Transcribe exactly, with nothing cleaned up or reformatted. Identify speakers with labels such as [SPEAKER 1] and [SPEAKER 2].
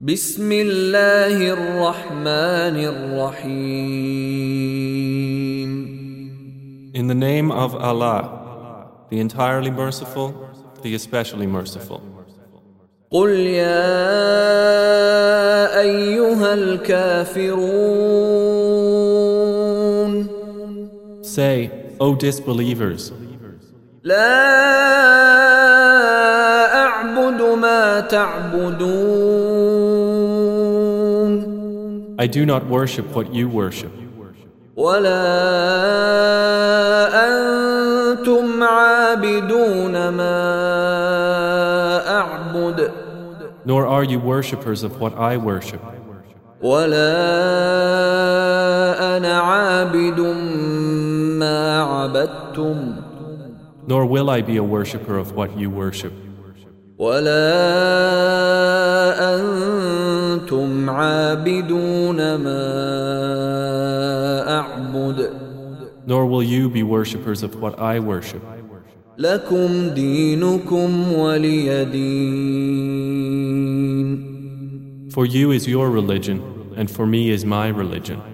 [SPEAKER 1] بسم الله الرحمن الرحيم.
[SPEAKER 2] In the name of Allah, the entirely merciful, the especially merciful.
[SPEAKER 1] قل يا أيها الكافرون.
[SPEAKER 2] Say, O disbelievers,
[SPEAKER 1] لا أعبد ما تعبدون.
[SPEAKER 2] I do not worship what you worship,
[SPEAKER 1] ولا أنتم عابدون ما أعبد.
[SPEAKER 2] nor are you worshippers of what I worship,
[SPEAKER 1] ولا أنا عابد ما عبدتم.
[SPEAKER 2] nor will I be a worshipper of what you worship,
[SPEAKER 1] ولا أنتم عابدون ما أعبد.
[SPEAKER 2] nor will you be worshippers of what I worship.
[SPEAKER 1] لكم دينكم ولي دين.
[SPEAKER 2] For you is your religion, and for me is my religion.